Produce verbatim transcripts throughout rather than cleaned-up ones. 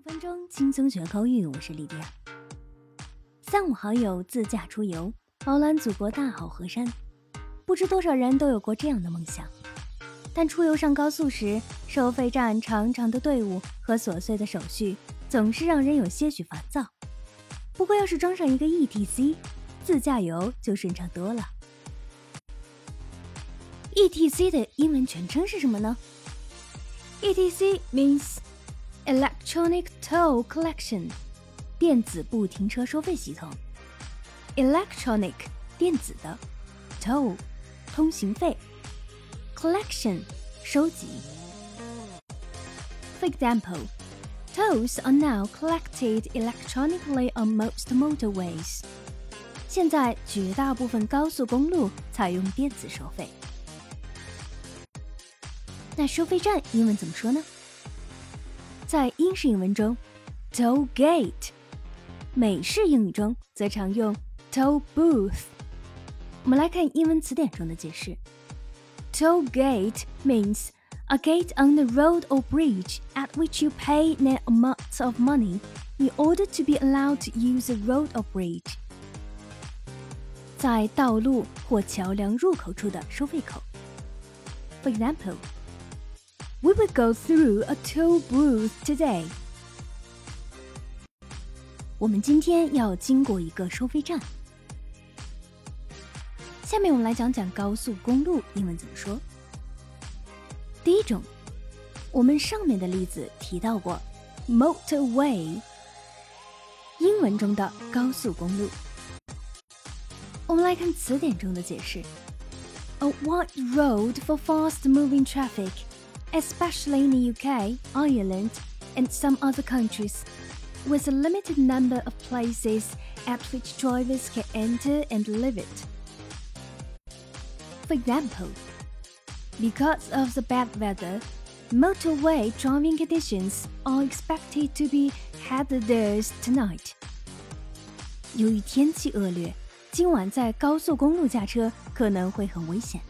分钟轻松学口语，我是莉迪亚。三五好友自驾出游，饱览祖国大好河山。不知多少人都有过这样的梦想，但出游上高速时，收费站长长的队伍和琐碎的手续，总是让人有些许烦躁。不过要是装上一个 E T C， 自驾游就顺畅多了。E T C 的英文全称是什么呢？ E T C means Electronic Toll Collection， 电子不停车收费系统。Electronic 电子的 Toll 通行费 Collection 收集。For example, tolls are now collected electronically on most motorways. 现在绝大部分高速公路采用电子收费。那收费站英文怎么说呢？在英式英文中 toll gate， 美式英语中则常用 toll booth。 我们来看英文词典中的解释。 Toll gate means a gate on the road or bridge at which you pay an amount of money in order to be allowed to use a road or bridge。 在道路或桥梁入口处的收费口。 For example, We will go through a toll booth today. 我们今天要经过一个收费站。下面我们来讲讲高速公路英文怎么说。第一种，我们上面的例子提到过 motorway， 英文中的高速公路。我们来看词典中的解释。 A wide road for fast-moving traffic,especially in the U K, Ireland, and some other countries, with a limited number of places at which drivers can enter and leave it. For example, because of the bad weather, motorway driving conditions are expected to be hazardous tonight. 由于天气恶劣，今晚在高速公路驾车可能会很危险。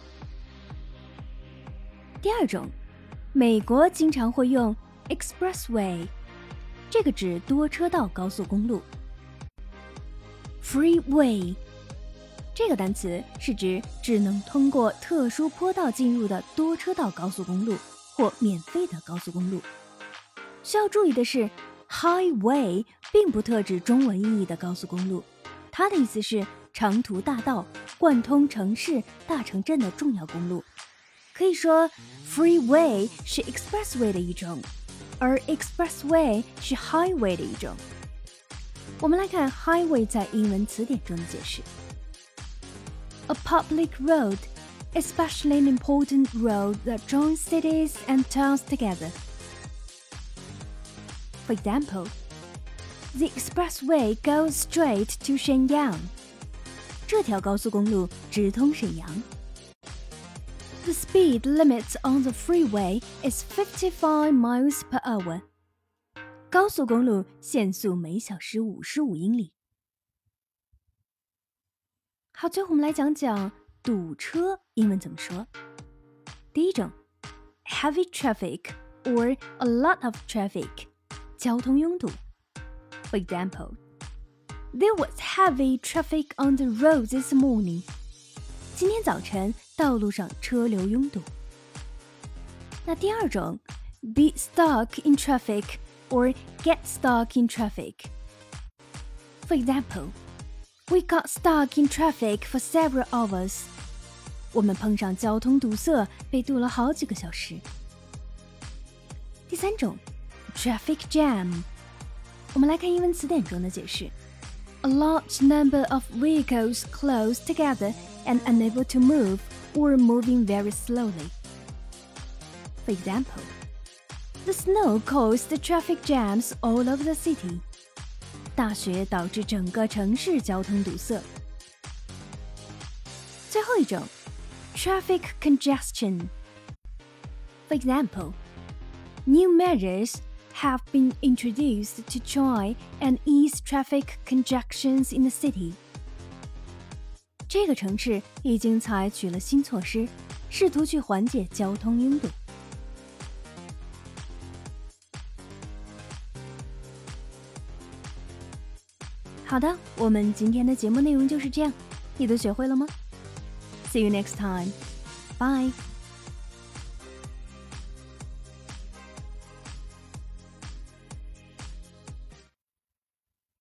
第二种，美国经常会用 expressway， 这个指多车道高速公路。freeway 这个单词是指只能通过特殊坡道进入的多车道高速公路或免费的高速公路。需要注意的是 highway 并不特指中文意义的高速公路，它的意思是长途大道，贯通城市、大城镇的重要公路。可以说 freeway 是 expressway 的一种，而 expressway 是 highway 的一种。我们来看 highway 在英文词典中的解释。 A public road, especially an important road that joins cities and towns together. For example, the expressway goes straight to Shenyang. 这条高速公路直通沈阳。The speed limit on the freeway is fifty-five miles per hour. 高速公路限速每小时五十五英里。好，最后我们来讲讲堵车英文怎么说。第一种 heavy traffic or a lot of traffic， 交通拥堵。For example, there was heavy traffic on the road this morning. 今天早晨道路上车流拥堵。那第二种 be stuck in traffic or get stuck in traffic. For example, we got stuck in traffic for several hours. 我们碰上交通堵塞，被堵了好几个小时。第三种 traffic jam， 我们来看英文词典中的解释。 A large number of vehicles close together and unable to move or moving very slowly. For example, the snow caused the traffic jams all over the city. 大雪导致整个城市交通堵塞。最后一种 traffic congestion. For example, new measures have been introduced to try and ease traffic congestions in the city. 这个城市已经采取了新措施，试图去缓解交通拥堵。 好的，我们今天的节目内容就是这样，你都学会了吗？See you next time. Bye.